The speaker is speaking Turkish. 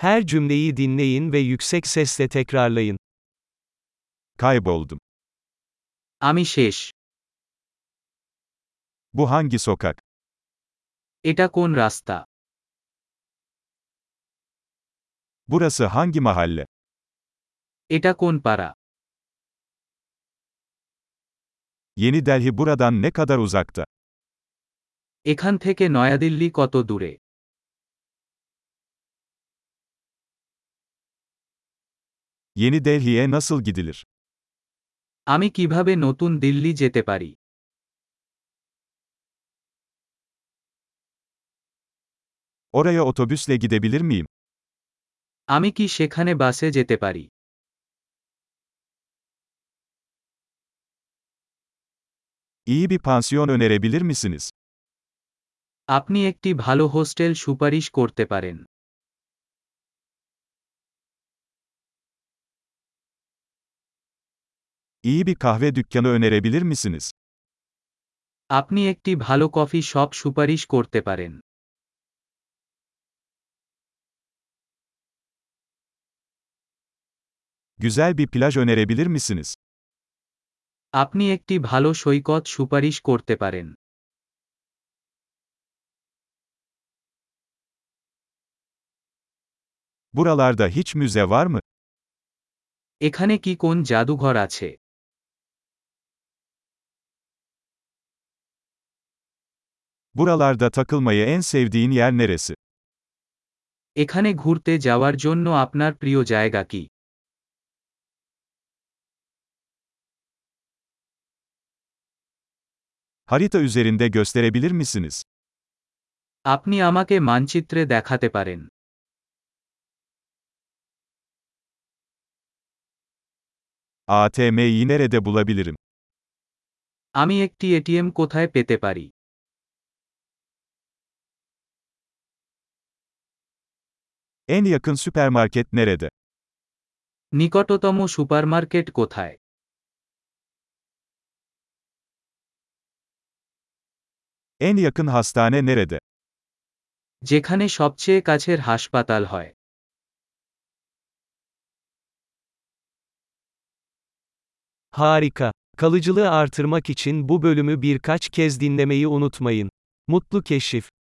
Her cümleyi dinleyin ve yüksek sesle tekrarlayın. Kayboldum. আমি শেষ। Bu hangi sokak? এটা কোন রাস্তা? Burası hangi mahalle? এটা কোন পাড়া? Yeni Delhi buradan ne kadar uzakta? এখান থেকে নয়াদিল্লি কত দূরে? Yeni Delhi'ye nasıl gidilir? আমি কিভাবে নতুন দিল্লি যেতে পারি? Oraya otobüsle gidebilir miyim? আমি কি সেখানে বাসে যেতে পারি? İyi bir pansiyon önerebilir misiniz? আপনি একটি ভালো হোস্টেল সুপারিশ করতে পারেন। İyi bir kahve dükkanı önerebilir misiniz? আপনি একটি ভালো কফি শপ সুপারিশ করতে পারেন। Güzel bir plaj önerebilir misiniz? আপনি একটি ভালো সৈকত সুপারিশ করতে পারেন। Buralarda hiç müze var mı? এখানে কি কোন জাদুঘর আছে? Buralarda takılmayı en sevdiğin yer neresi? এখানে ঘুরতে যাওয়ার জন্য আপনার প্রিয় জায়গা কি? Harita üzerinde gösterebilir misiniz? আপনি আমাকে মানচিত্রে দেখাতে পারেন। ATM'yi nerede bulabilirim? আমি একটি এটিএম কোথায় পেতে পারি? En yakın süpermarket nerede? নিকটতম সুপারমার্কেট কোথায়? En yakın hastane nerede? যেখানে সবচেয়ে কাছের হাসপাতাল হয়। Harika. Kalıcılığı artırmak için bu bölümü birkaç kez dinlemeyi unutmayın. Mutlu keşif.